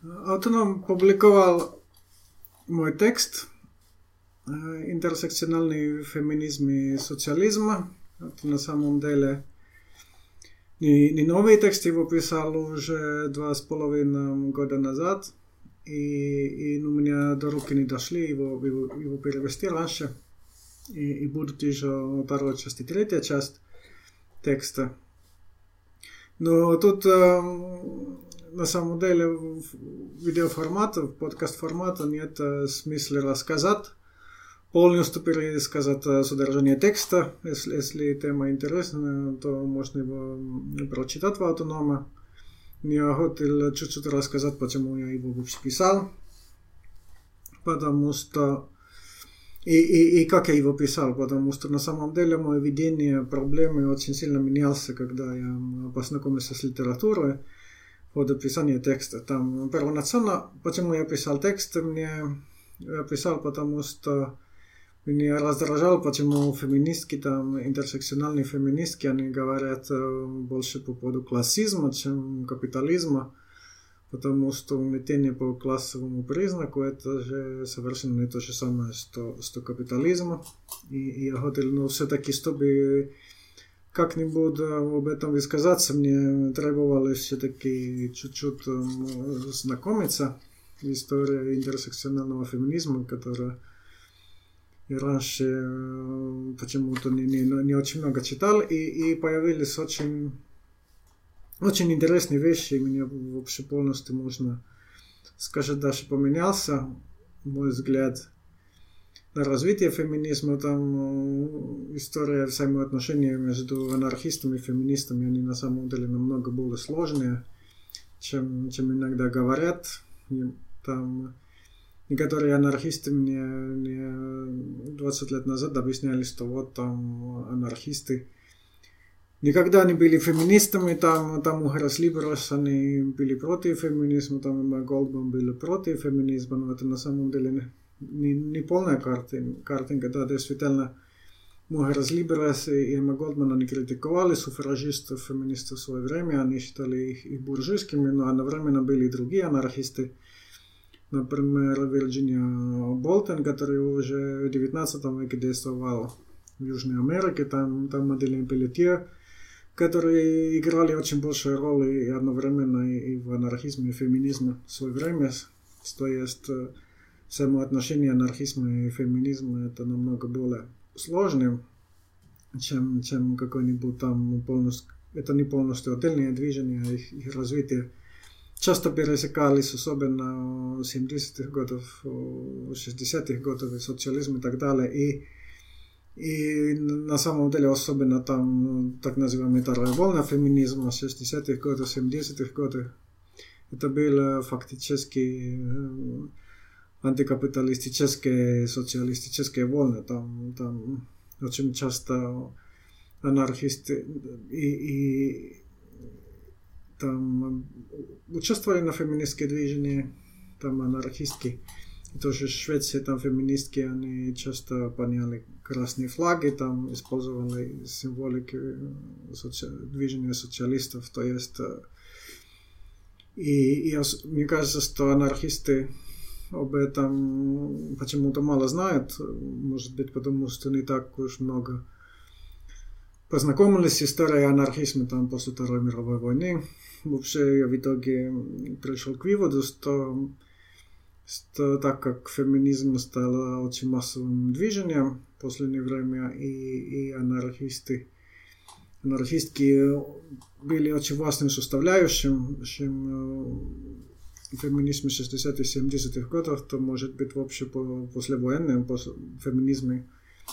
Autonom публиковал мой текст «Интерсекциональный феминизм и социализм». Это на самом деле не новый текст, его писал уже 2,5 года назад. И у меня до руки не дошли его перевести раньше. И будут еще вторая часть и третья часть текста. Но тут на самом деле в видеоформате, в подкаст-формате нет смысла рассказать, полностью пересказать содержание текста. Если тема интересна, то можно его прочитать в Autonomo. Я хотел чуть-чуть рассказать, почему я его вообще писал. Потому что и как я его писал, потому что на самом деле мое видение проблемы очень сильно менялся, когда я познакомился с литературой в ходе писания текста. Там первоначально, почему я писал текст, я писал, потому что меня раздражало, почему феминистки, там, интерсекциональные феминистки, они говорят больше по поводу классизма, чем капитализма. Потому что угнетение по классовому признаку это же совершенно не то же самое, что капитализм. И я хотел, но все-таки, чтобы как-нибудь об этом высказаться, мне требовалось все-таки чуть-чуть знакомиться с историей интерсекционального феминизма, которая я раньше почему-то не очень много читал, и появились очень интересные вещи, и меня вообще полностью, можно сказать, даже поменялся мой взгляд на развитие феминизма. Там история взаимоотношений между анархистами и феминистами, они на самом деле намного более сложные, чем иногда говорят. И там некоторые анархисты мне 20 лет назад объясняли, что вот там анархисты никогда не были феминистами, там у Harris Liberals они были против феминизма, там Emma Goldman были против феминизма, но это на самом деле не полная картинка. Да, действительно, Harris Liberals и Emma Goldman они критиковали суфражистов, феминистов в свое время, они считали их буржуйскими, но одновременно были и другие анархисты. Например, Вирджиния Болтон, который уже в 19 веке действовал в Южной Америке, там Маделин Пелетье, которые играли очень большую роль и одновременно и в анархизме, и в феминизме в свое время. То есть взаимоотношения анархизма и феминизма это намного более сложным, чем какой-нибудь там полностью, это не полностью отдельные движения, их развитие часто пересекались, особенно в 70-х годов, 60-х годов, и социализм и так далее. И на самом деле особенно там так называемая вторая волна феминизма 60-х годов, 70-х годов. Это были фактически антикапиталистические, социалистические волны. Там очень часто анархисты и там участвовали на феминистские движения, там анархистки. И тоже в Швеции там феминистки, они часто подняли красные флаги, там использовали символики движения социалистов. То есть, и мне кажется, что анархисты об этом почему-то мало знают, может быть, потому что не так уж много познакомились с историей анархизма там после Второй мировой войны. Вообще я в итоге пришел к выводу, что так как феминизм стал очень массовым движением в последнее время, и анархистки были очень важным составляющим феминизма 60-х, 70-х годов, то может быть вообще послевоенным феминизме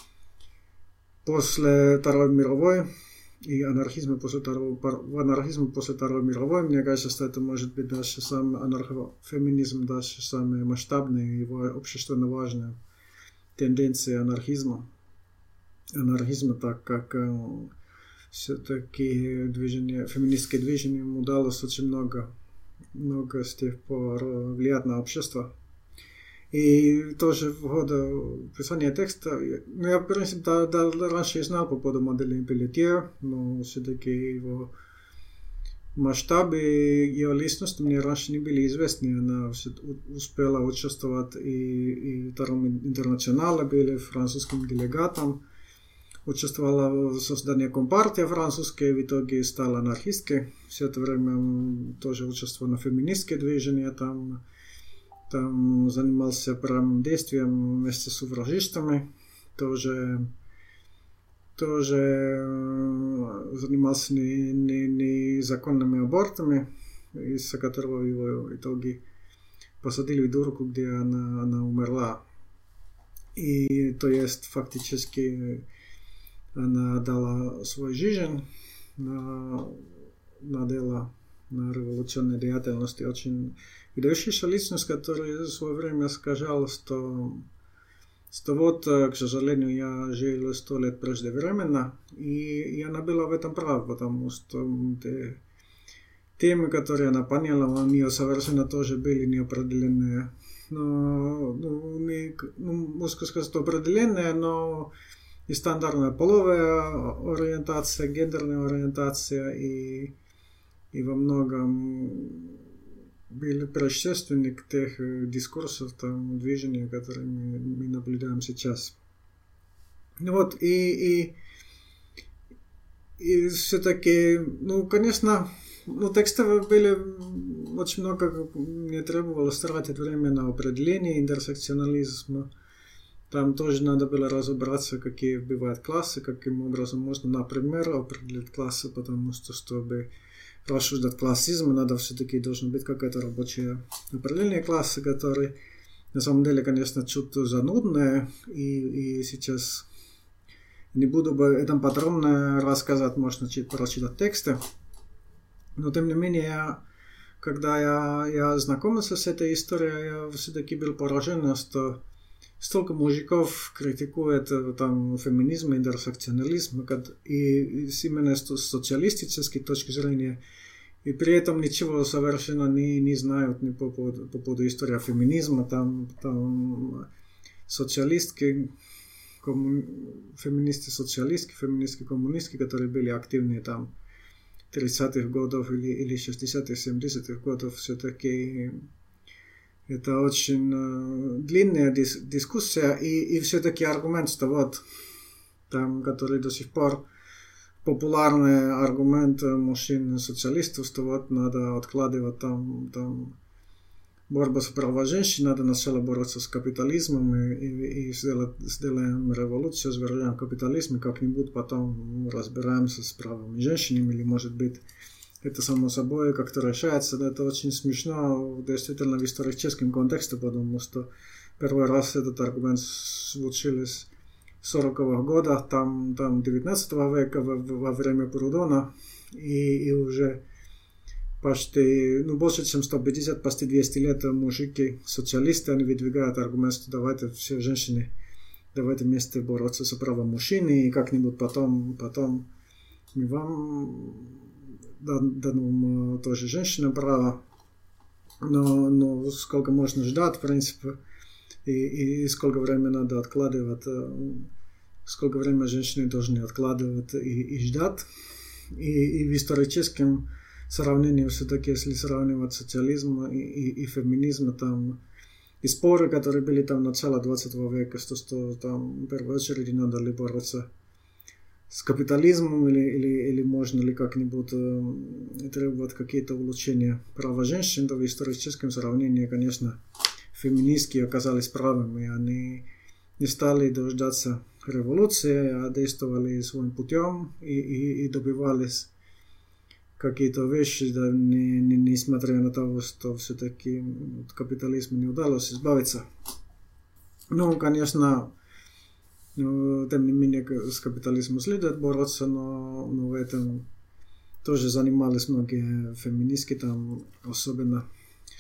после Второй мировой и анархизма после Второй мировой, мне кажется, что это может быть даже сам анархофеминизм, даже самые масштабные, его общественно важные тенденции анархизма, так как все-таки феминистское движение удалось очень много с тех пор влиять на общество. И тоже в ходе писания текста, я, в принципе, раньше знал по поводу Маделин Пелетье, но все-таки его масштабы ее личности мне раньше не были известны. Она успела участвовать и в Втором интернационале, были французским делегатом, участвовала в создании Компартии французской, в итоге стала анархисткой. Все это время тоже участвовала в феминистских движениях, там занимался правым действием вместе с суфражистами, тоже занимался незаконными абортами, из-за которого его в итоге посадили в дурку, где она умерла. И то есть фактически она дала свою жизнь на дело, на революционной деятельности. Очень выдающаяся личность, которая в свое время сказала, что вот, к сожалению, я жил 100 лет преждевременно, и она была в этом права, потому что темы, которые она поняла, у нее совершенно тоже были неопределенные. Можно сказать, что определенные, но и стандартная половая ориентация, гендерная ориентация, и во многом были предшественник тех дискурсов, там, движений, которые мы наблюдаем сейчас. И все-таки, конечно, текстов были очень много, мне требовалось тратить время на определение интерсекционализма. Там тоже надо было разобраться, какие бывают классы, каким образом можно, например, определить классы, потому что, чтобы рассуждать классизм, надо все-таки должно быть какое-то рабочее определение класса, которое на самом деле, конечно, чуть занудное, и сейчас не буду об этом подробно рассказать, можно прочитать тексты, но тем не менее, когда я знакомился с этой историей, я все-таки был поражен, что столько мужиков критикует там феминизм, интерсекционализм, и именно с социалистической точки зрения, и при этом ничего совершенно не знают ни по поводу истории феминизма, там социалистки, феминисты-социалистки, феминистки-коммунистки, которые были активны там 30-х годов или 60-х, 70-х годов, все-таки это очень длинная дискуссия, и все-таки аргумент, что вот там, который до сих пор популярный аргумент мужчин-социалистов, что вот надо откладывать там борьбу за права женщин, надо сначала бороться с капитализмом и сделаем революцию, свержаем капитализм, и как-нибудь потом разбираемся с правами женщин, или может быть это само собой как-то решается. Это очень смешно, действительно, в историческом контексте, потому что первый раз этот аргумент звучал с 40-х годов, там 19 века, во время Прудона, и уже почти, больше, чем 150, почти 200 лет мужики, социалисты, они выдвигают аргумент, что давайте все женщины, давайте вместе бороться за права мужчин, и как-нибудь потом мы вам дадим тоже женщинам право, но сколько можно ждать, в принципе, и сколько времени надо откладывать, сколько времени женщины должны откладывать и ждать. И в историческом сравнении все-таки, если сравнивать социализм и феминизм, там и споры, которые были там начала 20 века, что там в первую очередь надо ли бороться с капитализмом или можно ли как-нибудь требовать какие-то улучшения права женщин, то в историческом сравнении, конечно, феминистки оказались правыми, они не стали дождаться революции, а действовали своим путем и добивались какие-то вещи, да, несмотря на то, что все-таки от капитализма не удалось избавиться. Конечно, тем не менее с капитализмом следует бороться, но в этом тоже занимались многие феминистки, там, особенно в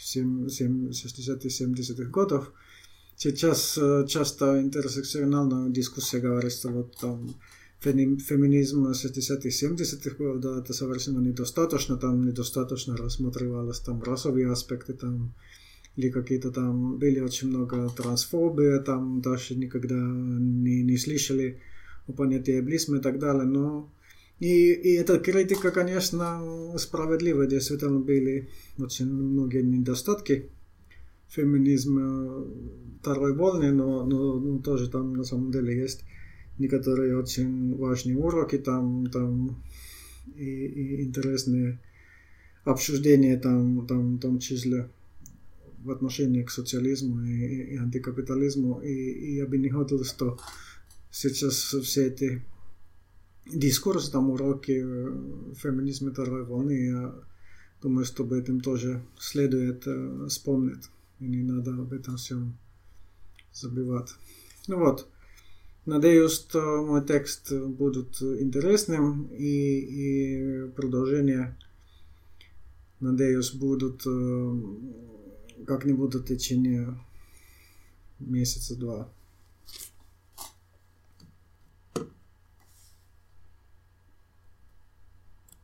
60-70-х годов. Сейчас часто интерсекциональная дискуссия говорит, что вот там феминизм 60-х, 70-х годов это совершенно недостаточно, там недостаточно рассматривалось там расовые аспекты, там или какие-то там были очень много трансфобии, там даже никогда не слышали о понятии эблизма и так далее, но И эта критика, конечно, справедлива. Действительно, были очень многие недостатки феминизма второй волны, но тоже там на самом деле есть некоторые очень важные уроки там и интересные обсуждения там, в том числе в отношении к социализму и антикапитализму. И я бы не хотел, что сейчас все эти дискурсы, там уроки феминизма второй волны, я думаю, что об этом тоже следует вспомнить. И не надо об этом всем забывать. Ну вот. Надеюсь, что мой текст будет интересным и продолжение, надеюсь, будут как-нибудь в течение месяца-два.